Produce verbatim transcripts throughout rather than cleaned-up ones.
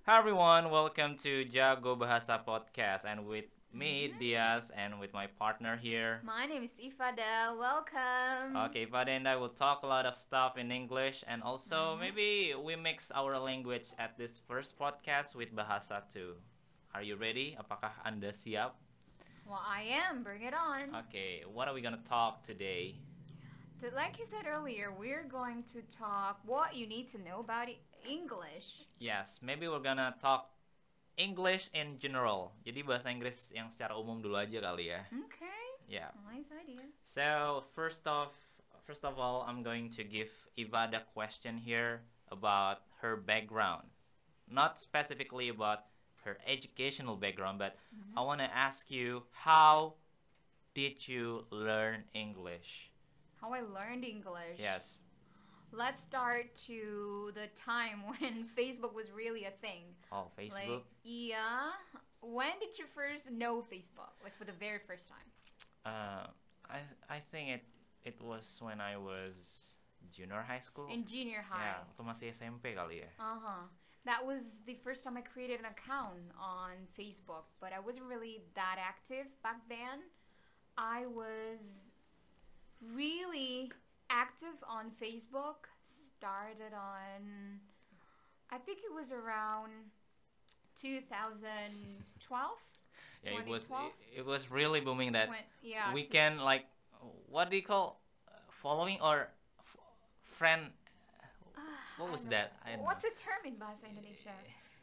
Hi everyone, welcome to Jago Bahasa Podcast and with me hmm Diaz and with my partner here. My name is Ifada. Welcome. Okay, Fade and I will talk a lot of stuff in English and also hmm maybe we mix our language at this first podcast with Bahasa too. Are you ready? Apakah Anda siap? Well, I am. Bring it on. Okay, what are we gonna talk today? So, like you said earlier, we're going to talk what you need to know about E- English. Yes, maybe we're gonna talk English in general. Jadi bahasa Inggris yang secara umum dulu aja kali ya. Okay. Yeah. Nice idea. So first of first of all, I'm going to give Eva the question here about her background, not specifically about her educational background, but I hmm want to ask you how did you learn English? How I learned English. Yes. Let's start to the time when Facebook was really a thing. Oh, Facebook. Like, yeah. When did you first know Facebook? Like, for the very first time? Uh, I I think it it was when I was junior high school. In junior Ya, high. waktu masih S M P kali ya. Uh huh. That was the first time I created an account on Facebook, but I wasn't really that active back then. I was really active on Facebook. Started on, I think it was around twenty twelve. Yeah, it was twenty twelve? it, it was really booming that When, yeah. we To, can like what do you call uh, following or f- friend uh, what I was don't that know. I don't What's know. a term in Bahasa Indonesia?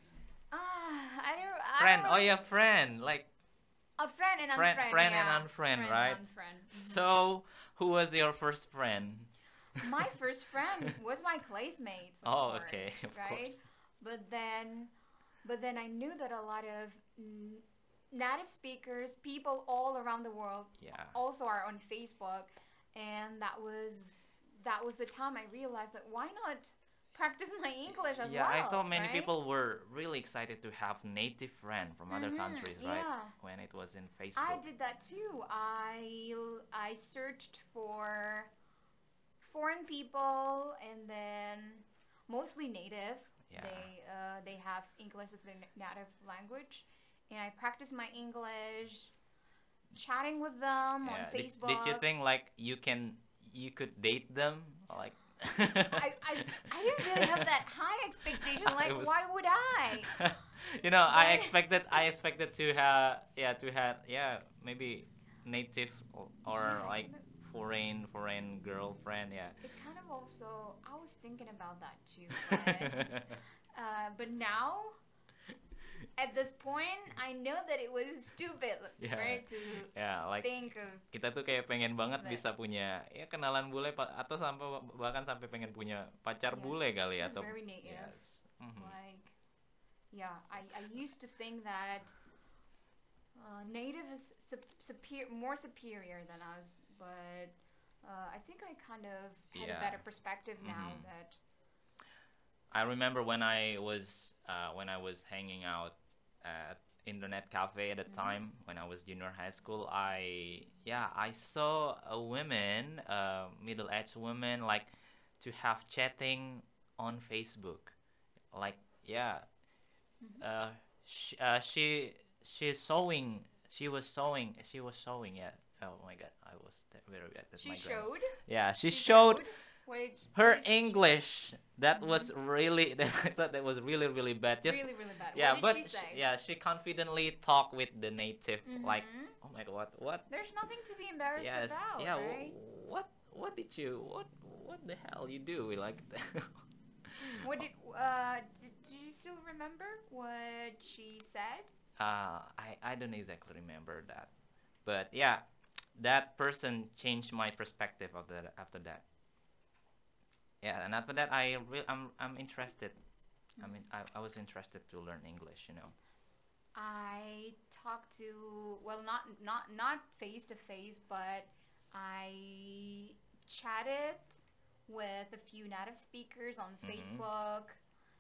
Ah, I don't. I Friend, don't oh really. yeah, friend, like A friend and friend unfriend, friend and yeah. unfriend, Friend right? and unfriend. Mhm. So who was your first friend? My first friend was my classmates, of Oh, course, okay, of right? course. But then, but then I knew that a lot of n- native speakers, people all around the world, Yeah. also are on Facebook, and that was that was the time I realized that why not practice my English as Yeah, I saw well, many right? people were really excited to have native friend from other Mhm. countries, right? Yeah. When it was in I Facebook. did that too. I I searched for foreign people and then mostly native. Yeah. They uh, they have English as their native language, and I practice my English, chatting with them on Yeah. Did, did you Facebook. think like you can you could date them like I, I I didn't really have that high expectation. Like, it was why would I? you know, I But expected I expected to have yeah, to have yeah, maybe native or, or yeah, it like kind of foreign foreign girlfriend, yeah. it kind of also I was thinking about that too, but uh, but now at this point, I know that it was stupid, Ya, right, to ya, like think of kita tuh kayak pengen banget that. bisa punya ya kenalan bule pa- atau sampai bahkan sampai pengen punya pacar Yeah, bule kali she ya was atau very native. yes. Mhm. Like, yeah, I, I used to think that uh, native is sup- superior, more superior than us, but uh, I think I kind of had a Yeah. better perspective now Mhm. that. I remember when I was uh, when I was hanging out at internet cafe at the Mhm. time when I was junior high school. I yeah I saw a woman, uh, middle aged woman, like to have chatting on Facebook. Like yeah, Mhm. uh, sh- uh she she's sewing. She was sewing. She was sewing. Yeah. Oh my god, I was t- very bad at She my grammar. showed. Yeah, she She showed showed. What did, what her did she show? English. That was Mhm. really that, I thought that was really really bad. Just Really, really bad. What yeah, did but she sh- say? yeah, she confidently talked with the native like, Mhm. oh my god, what what? There's nothing to be embarrassed Yes, about, yeah. right? wh- What what did you what what the hell you do like that? What did uh did, do you still remember what she said? uh, I I don't exactly remember that, but yeah, that person changed my perspective of that after that. Yeah, and after that, I re- I'm I'm interested. I Mhm. mean, I, I was interested to learn English, you know. I talked to, well, not not not face to face, but I chatted with a few native speakers on Mm-hmm. Facebook,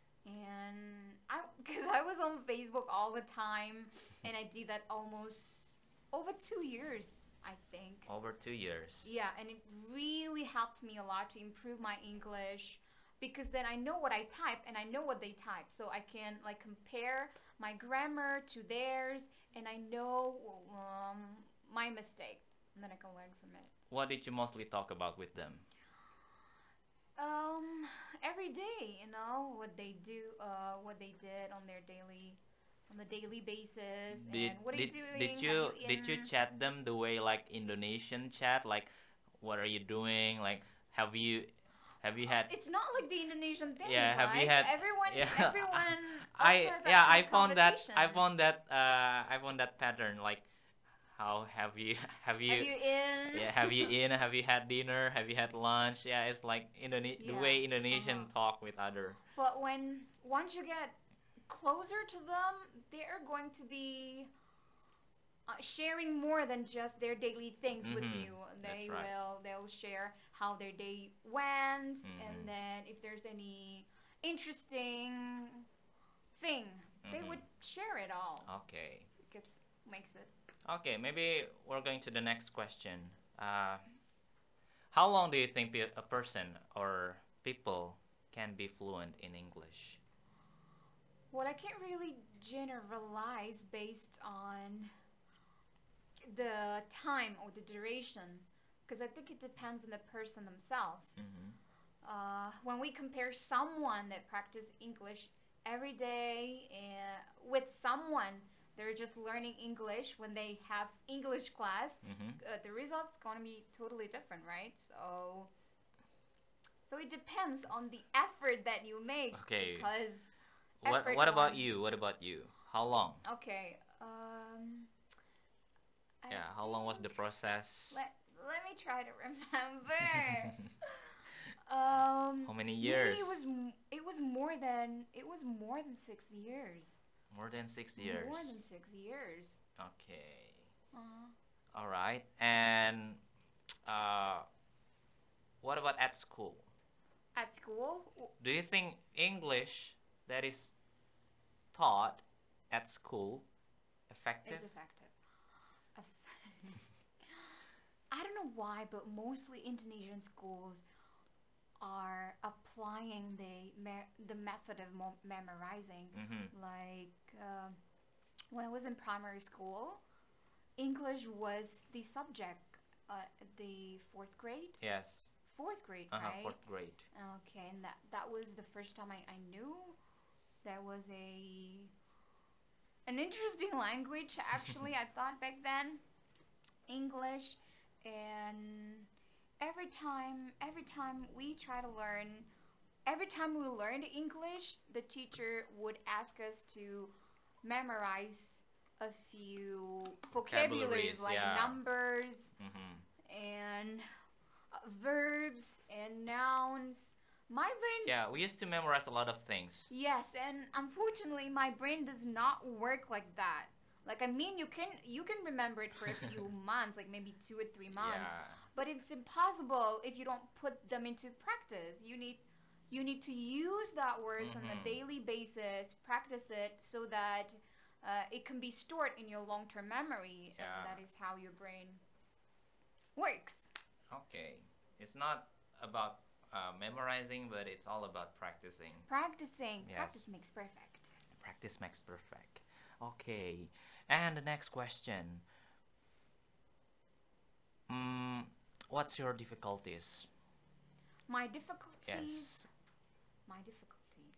and I because I was on Facebook all the time, and I did that almost over two years, I think. Over two years. Yeah, and it really helped me a lot to improve my English. because then I know what I type and I know what they type, so I can like compare my grammar to theirs, and I know um, my mistake, and then I can learn from it. What did you mostly talk about with them? Um, every day, you know, what they do, uh, what they did on their daily, on the daily basis, Did and what are you did doing? did Have you you did you in? chat them the way like Indonesian chat? Like, what are you doing? Like, have you have you had It's not like the Indonesian thing. yeah, It's have you like had everyone, yeah everyone also I has that yeah, kind I of found that I conversation. found that uh I found that pattern like how have you have Have you you in? yeah, have you in have you had dinner, have you had lunch? Yeah, it's like Indone- the Yeah. way Uh Indonesian huh. talk with other. But when once you get closer to them, they are going to be uh, sharing more than just their daily things with Mhm. you. That's They right. will they'll share how their day went, and Mhm. then if there's any interesting thing, they Mhm. would share it all. Okay. It makes it. Okay, maybe we're going to the next question. Uh how long do you think pe- a person or people can be fluent in English? Well, I can't really generalize based on the time or the duration, because I think it depends on the person themselves. Mhm. Uh, when we compare someone that practice English every day and with someone they're just learning English when they have English class, Mhm. uh, the result's going to be totally different, right? So, so it depends on the effort that you make, Okay. because What effort what one. about you? What about you? How long? Okay. Um, I Yeah, how long was the think process? let let me try to remember. Um, How many maybe years? it was m- it was more than it was more than six years. More than six More years. than six years. Okay. Uh, All right. And uh, what about at school? at school Do you think English that is taught at school effective? is effective. I don't know why, but mostly Indonesian schools are applying the me- the method of mo- memorizing. Mm-hmm. Like um when I was in primary school, English was the subject. Uh, the fourth grade, Yes. fourth grade, Uh-huh, right? fourth grade. Okay, and that that was the first time I, I knew there was a an interesting language. Actually, I thought back then English, and every time every time we try to learn, every time we learned English, the teacher would ask us to memorize a few vocabularies Vocabularies, like yeah. numbers Mm-hmm. and uh, verbs and nouns. My brain, Yeah, we used to memorize a lot of things. yes, and unfortunately, my brain does not work like that. Like I mean, you can you can remember it for a few months, like maybe two or three months, Yeah. but it's impossible if you don't put them into practice. You need you need to use that words on a Mm-hmm. daily basis, practice it so that uh, it can be stored in your long-term memory, and Yeah. that is how your brain works. Okay. It's not about uh, memorizing, but it's all about practicing. Practicing, Yes. practice makes perfect. Practice makes perfect. Okay. And the next question. Mm, what's your difficulties? My difficulties, Yes. my difficulties.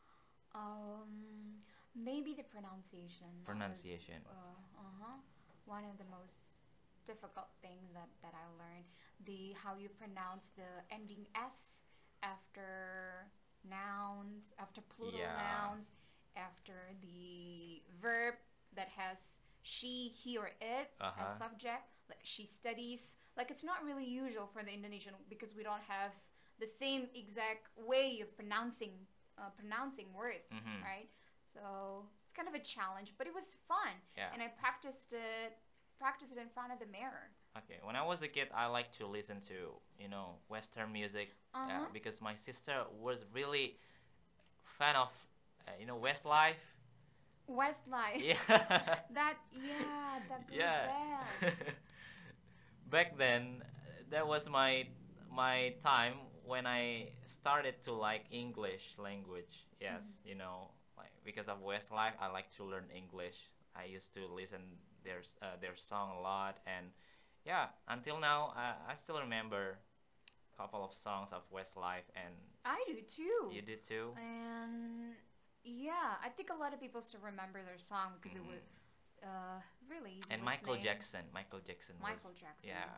Um, maybe the pronunciation. That was, Pronunciation. uh, uh-huh, one of the most difficult things that, that I learned. The how you pronounce the ending s after nouns, after plural Yeah. nouns, after the verb that has she, he, or it Uh-huh. as subject. Like she studies. Like it's not really usual for the Indonesian because we don't have the same exact way of pronouncing uh, pronouncing words, Mm-hmm. right? So it's kind of a challenge, but it was fun, Yeah. and I practiced it practiced it in front of the mirror. Okay. When I was a kid, I liked to listen to, you know, Western music. Uh Yeah, huh. because my sister was really fan of, uh, you know, Westlife. Westlife. Yeah. That yeah, that group Yeah. band. Back then, uh, that was my my time when I started to like English language, yes, Mhm. you know, like because of Westlife, I like to learn English. I used to listen their s- uh, their song a lot, and yeah, until now, I, I still remember a couple of songs of Westlife, and I do too. you do too. And yeah, I think a lot of people still remember their song because it was Mhm. uh, really easy And Michael listening. Jackson, Michael Jackson was, Michael Jackson. yeah,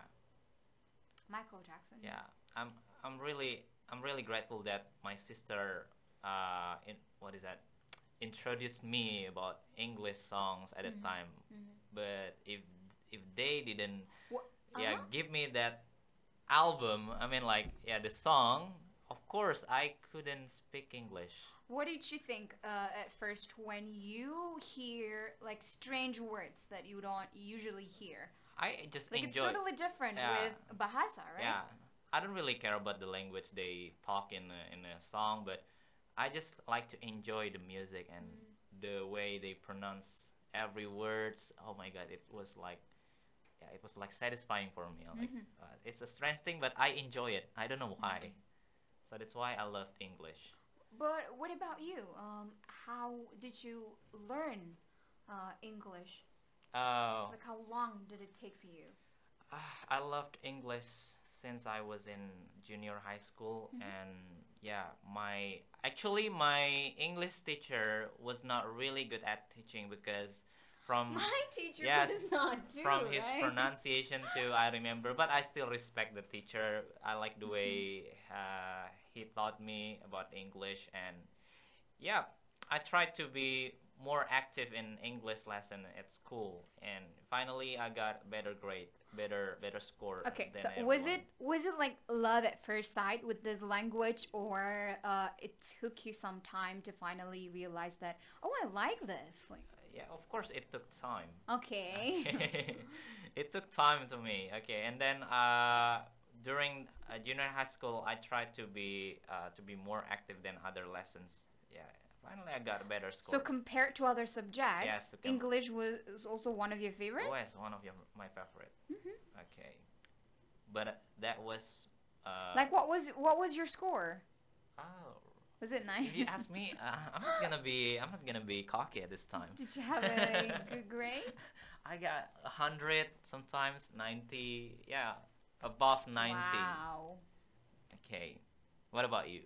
Michael Jackson. yeah. I'm I'm really I'm really grateful that my sister, uh, in what is that, introduced me about English songs at the Mhm. time. Mhm. But if if they didn't, What? Uh yeah, huh. give me that album, I mean, like, yeah, the song, of course I couldn't speak English. What did you think uh, at first when you hear like strange words that you don't usually hear? I just Like it's enjoy. totally different Yeah, with bahasa, right? yeah. I don't really care about the language they talk in a, in a song, but I just like to enjoy the music and Mm. the way they pronounce every words. Oh my god, it was like, yeah, it was like satisfying for me. Like, Mhm. uh, it's a strange thing, but I enjoy it. I don't know why. Mhm. So that's why I loved English. But what about you? Um, how did you learn uh, English? Oh, Like how long did it take for you? ah, I loved English since I was in junior high school, Mhm. and yeah, my actually my English teacher was not really good at teaching because from, My teacher yes, was not too, from his right? pronunciation too, I remember, but I still respect the teacher. I like the Mhm. way uh, he taught me about English, and yeah, I tried to be more active in English lesson at school, and finally I got better grade, better better score Okay, than so was everyone. it was it like love at first sight with this language, or uh, it took you some time to finally realize that oh I like this? Like Yeah, of course it took time. okay. Okay, it took time to me. Okay, and then uh, during uh, junior high school, I tried to be uh, to be more active than other lessons. Yeah, finally I got a better So score. compared to other subjects, Yes, to come. English was also one of your Oh, it's favorites. one of your my favorite. Hmm. Okay, but uh, that was uh Like what was what was your score? oh. Was it nice? If you ask me, uh, I'm not gonna be I'm not gonna be cocky at this did, time. did you have a good grade? I got a hundred, sometimes ninety. Yeah, above ninety. Wow. Okay, what about you?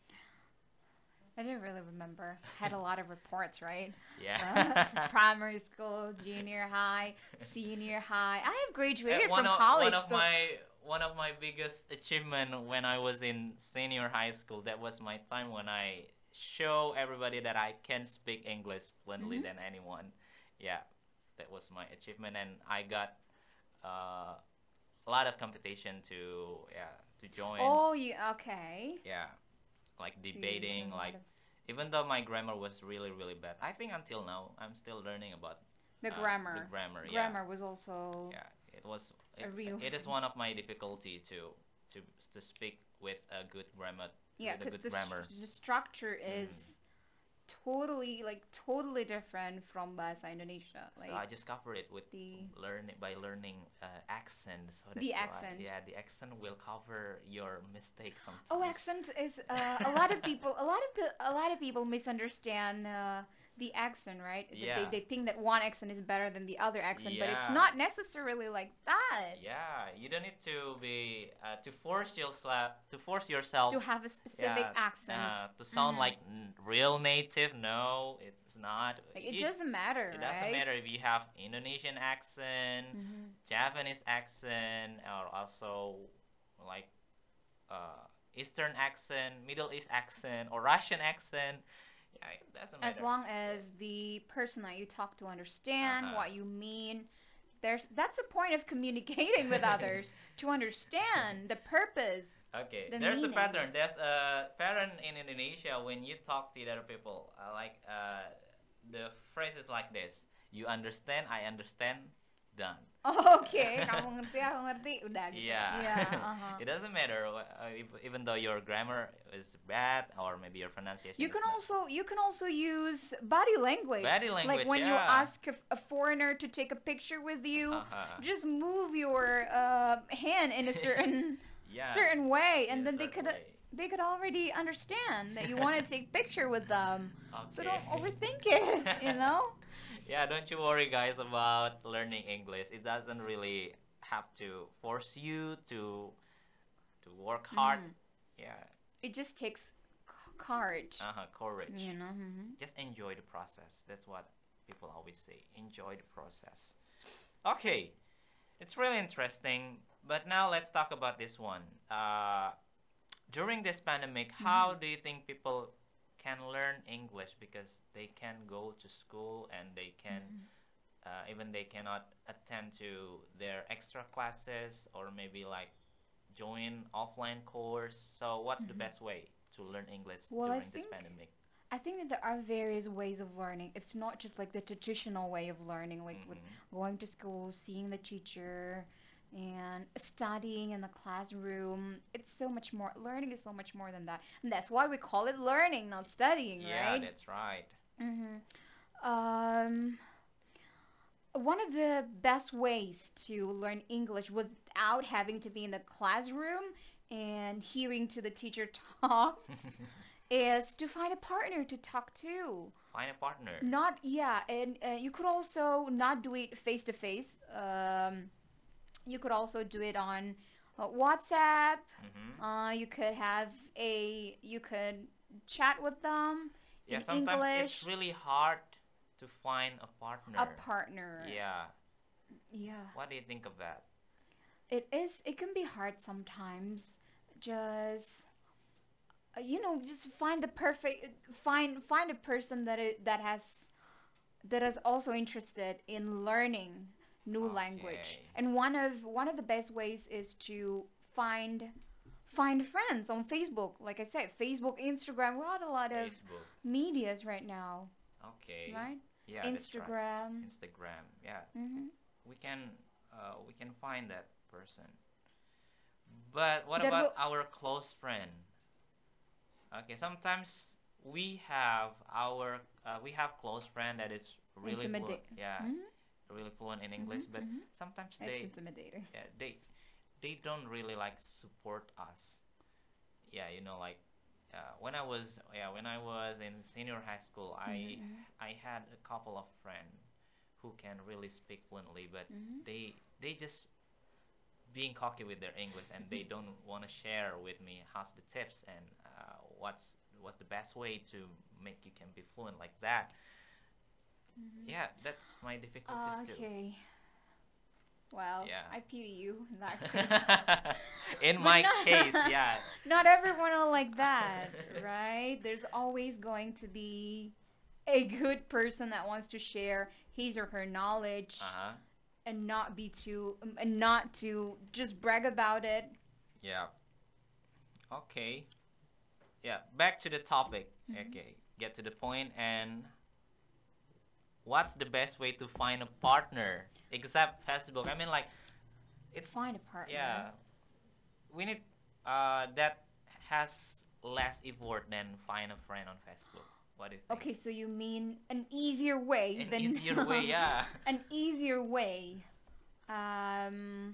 I didn't really remember. Had a lot of reports, right? Uh, Yeah. primary school, junior high, senior high. I have Uh, graduated one from of one college, of so my one of my biggest achievement when I was in senior high school. That was my time when I show everybody that I can speak English fluently hmm. than anyone. Yeah, that was my achievement, and I got uh, a lot of competition to, yeah, to join. Oh, you okay? Yeah, like So you debating, learn a lot like, of even though my grammar was really really bad, I think until now I'm still learning about the uh, the grammar. grammar. Yeah, Grammar was also yeah, it was a it, real it is thing. one of my difficulty to to to speak with a good grammar, Yeah, with a because good the, grammar. st- the structure Mm. is totally like totally different from bahasa Indonesia. So I Like just cover it with the learning by learning uh, accent. So the that's why, accent. yeah, the accent will cover your mistakes Oh, sometimes. accent is uh, a lot of people. A lot of pe- a lot of people misunderstand uh, the accent, right? That They Yeah, they think that one accent is better than the other accent, but it's yeah. not necessarily like that. Yeah, you don't need to be uh, to force yourself to force yourself. To have a specific Yeah, accent. uh, to sound Hmm. like n- real native. No, it's not. Like it You, doesn't matter, it doesn't right? matter if you have Indonesian accent, Hmm. Japanese accent, or also like uh, Eastern accent, Middle East accent, or Russian accent. Yeah, it doesn't As matter. long as the person that you talk to understand Uh-huh. what you mean, there's that's the point of communicating with others to understand the purpose, Okay, the there's a meaning. pattern. There's a pattern in Indonesia when you talk to other people. Uh, like uh, the phrase is like this: "You understand, I understand, done." Oke, kamu ngerti, aku ngerti, udah gitu. Yeah, Iya, aha. it doesn't matter uh, if, even though your grammar is bad or maybe your pronunciation You is can not. also you can also use body language. Body Like language, when you yeah. ask a, a foreigner to take a picture with you, Uh-huh. just move your uh, hand in a certain Yeah. certain way, and In a then they certain could way. they could already understand that you want to take picture with them. So Okay. don't overthink it, you know? Yeah, don't you worry, guys, about learning English. It doesn't really have to force you to to work hard. Mm. Yeah, It just takes c- courage, uh-huh, courage. you know? Hmm. Just enjoy the process. That's what people always say. Enjoy the process. Okay, it's really interesting. But now let's talk about this one. Uh, during this pandemic, how Hmm. do you think people can learn English because they can go to school and they can Hmm. uh, even they cannot attend to their extra classes or maybe like join offline course. So what's the Hmm. best way to learn English Well, I during this think pandemic? I think that there are various ways of learning. It's not just like the traditional way of learning, like with Mm-hmm. going to school, seeing the teacher, and studying in the classroom. It's so much more. Learning is so much more than that, and that's why we call it learning, not studying, Yeah, right? that's right. Mm-hmm. Um, one of the best ways to learn English without having to be in the classroom and hearing to the teacher talk is to find a partner to talk to. Find a partner. Not, yeah, and uh, you could also not do it face to face. Um, You could also do it on uh, WhatsApp. Mm-hmm. Uh, you could have a, you could chat with them Yeah, in sometimes it's English. really hard to find a A partner. partner. Yeah. Yeah. What do you think of that? It is, it can be hard sometimes. Just, uh, you know, just find the perfect, find, find a person that it, that has that is also interested in learning new language. Okay. And one of one of the best ways is to find find friends on Facebook. Like I said, Facebook, Instagram, we have a lot of Facebook. medias right now, Okay. right? Yeah, that's right. Instagram. Instagram. Yeah. Mm-hmm. We can uh, we can find that person. But what That about will our close friend? Okay, sometimes we have our uh, we have close friend that is really fluent. intimidate. Yeah, Mm-hmm. really fluent in Mm-hmm. English, but Mm-hmm. sometimes It's they intimidating. yeah, they they don't really like support us. Yeah, you know, like uh, when I was yeah when I was in senior high school, I Mm-hmm. I had a couple of friends who can really speak fluently, but Mm-hmm. they they just being cocky with their English and they don't want to share with me how's the tips and uh, what's what's the best way to make you can be fluent like that. Mm-hmm. Yeah, that's my difficulties Uh, too. okay. Well, Yeah. I pity you in that case. In But my not, case, yeah. not everyone are like that, right? There's always going to be a good person that wants to share his or her knowledge Uh-huh. and not be too um, and not to just brag about it. Yeah. Okay. Yeah, back to the topic. Hmm. Okay, get to the point and what's the best way to find a partner except Facebook? I mean like it's Find a partner. yeah, we need uh that has less effort than find a friend on Facebook. What do you think? Okay, so you mean an easier way An than easier way, yeah. an easier way. Um,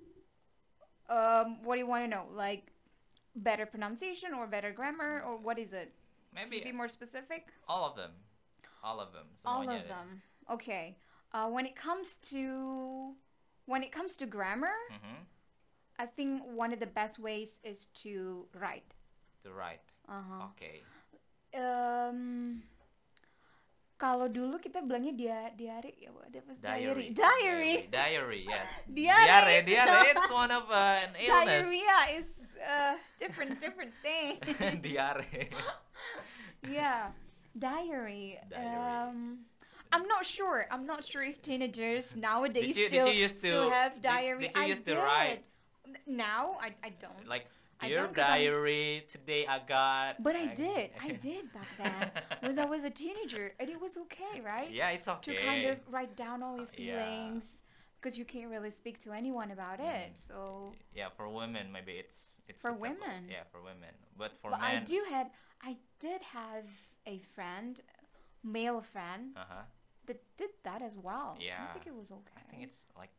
um, what do you want to know? Like better pronunciation or better grammar or what is it? Can you Maybe be more specific? all of them. All of them. All Semuanya of deh. them. Okay. Uh, when it comes to when it comes to grammar, Mhm. I think one of the best ways is to write. To write. Uh-huh. Okay. Um, kalau dulu kita bilangnya dia diary ya, what was diary? Diary. Diary. Diary, diary yes. Diary. Diare, diare. It's one of uh, an illness. Diarrhea is uh different different thing. Diare. Yeah, diary. Diary. Um, I'm not sure. I'm not sure if teenagers nowadays Did you- did still you used still to- have did- diary. did you I used to did. write? Now I I don't. Like, I dear don't 'cause I'm- diary, today I got. But I did. I did back then. Was I was a teenager and it was okay, right? Yeah, it's okay. To kind of write down all your Uh, yeah. feelings because you can't really speak to anyone about it. Mm. So, Yeah, for women maybe it's it's For suitable. women. Yeah, for women. But for but I men. do had I did have a friend, male friend Uh huh. that did that as well. I Yeah. think it was okay. I think it's like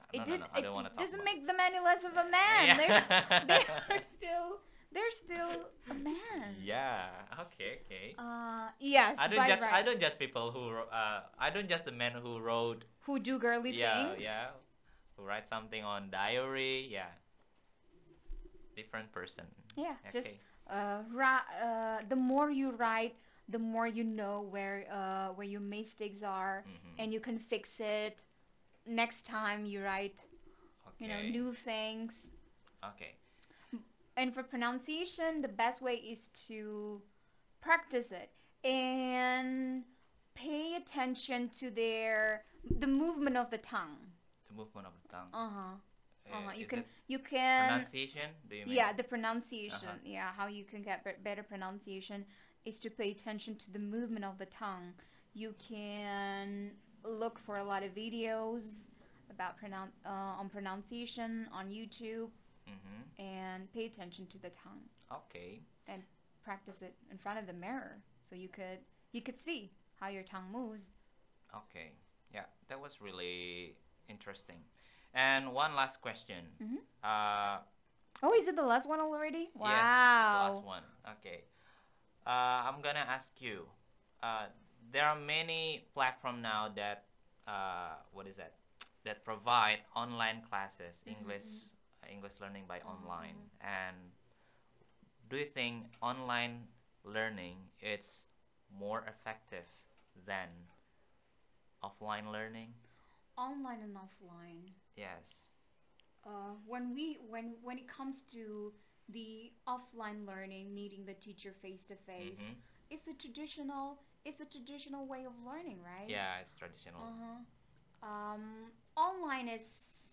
no, It no, did. no. I It, don't want it to talk doesn't about. make them any less of a man. They're they Yeah. are still they're still a man. Yeah. Okay. Okay. Uh, yes, I don't by judge. I right. don't judge people who. wro- Uh, I don't judge the men who wrote. Who do girly Yeah. things? Yeah. Who write something on diary. Yeah. Different person. Yeah, just Okay. uh, ri- uh, the more you write, the more you know where uh, where your mistakes are, Mm-hmm. and you can fix it next time you write. You know, Okay. new things. Okay. And for pronunciation, the best way is to practice it and pay attention to their the movement of the tongue. The movement of the tongue. Uh huh. Uh huh. Uh, You is can it you can pronunciation? Do you mean? yeah, the pronunciation. Uh-huh. Yeah, how you can get be- better pronunciation is to pay attention to the movement of the tongue. You can look for a lot of videos about pronoun uh, on pronunciation on YouTube Mm-hmm. and pay attention to the tongue Okay. and practice it in front of the mirror so you could you could see how your tongue moves. Okay. Yeah, that was really interesting. And one last question. Mhm. Uh, Oh, is it the last one already? Wow. Yes, the last one. Okay. Uh, I'm gonna ask you. Uh, there are many platform now that uh, what is that? That provide online classes, Mhm, English, uh, English learning by Uh-huh. online. And do you think online learning is more effective than offline learning? Online and offline. Yes. Uh, when we when when it comes to the offline learning, meeting the teacher face to face, Mm-hmm. it's a traditional it's a traditional way of learning, right? Yeah, it's traditional. Uh-huh. Um, online is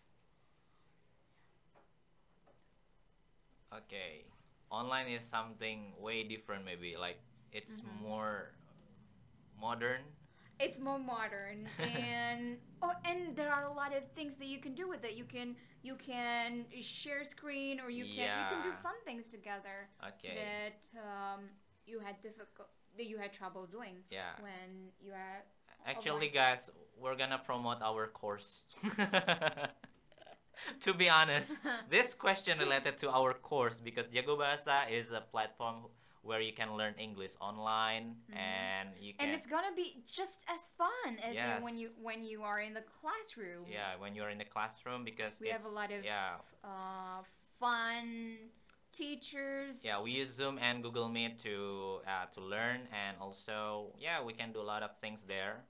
Okay. Online is something way different maybe. Like it's Mhm. more modern. it's more modern and oh, and there are a lot of things that you can do with it. You can you can share screen or you can you can do Yeah. fun things together Okay. that um, you had difficult that you had trouble doing Yeah. when you are Actually, offline guys, class. we're gonna promote our course. To be honest, this question related to our course because Jago Bahasa is a platform where you can learn English online Mhm. and you And can it's gonna be just as fun as in when Yes. you when you are in the classroom. yeah when you're in the classroom because We have it's a lot of yeah uh, fun teachers. yeah we use Zoom and Google Meet to uh, to learn and also yeah we can do a lot of things there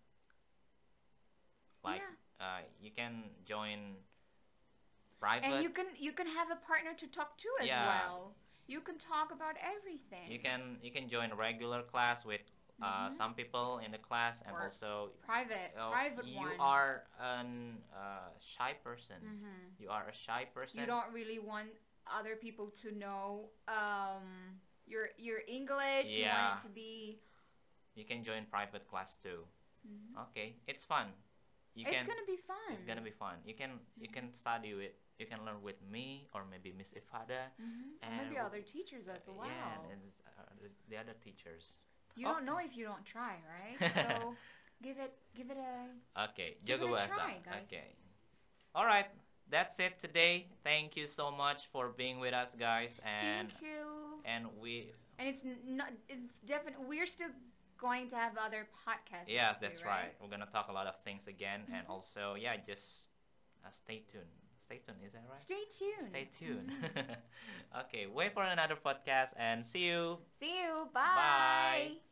like Yeah. uh, you can join And private you can you can have a partner to talk to as Yeah. well. You can talk about everything. you can you can join a regular class with uh, Mhm. some people in the class and Or also private uh, private you one. are an uh, shy person Mhm. you are a shy person You don't really want other people to know um, your your English. You want Yeah. it to be. you can join private class too Mhm. okay it's fun you It's can gonna be fun. it's gonna be fun you can you can study with you can learn with me or maybe Miss Ifada Mhm. Or and maybe w- other teachers as uh, well. yeah and uh, the, the other teachers You don't know Okay. if you don't try, right? So give it give it a okay give Jago it a Bahasa try, guys. okay all right that's it today thank you so much for being with us guys and Thank you. and we And it's n- not. It's definitely. We're still going to have other podcasts. yes too, that's right we're gonna talk a lot of things again and Mhm. also yeah just uh, stay tuned stay tuned is that right Stay tuned. Stay tuned. Mhm. Okay, wait for another podcast and see you. See you. Bye. Bye.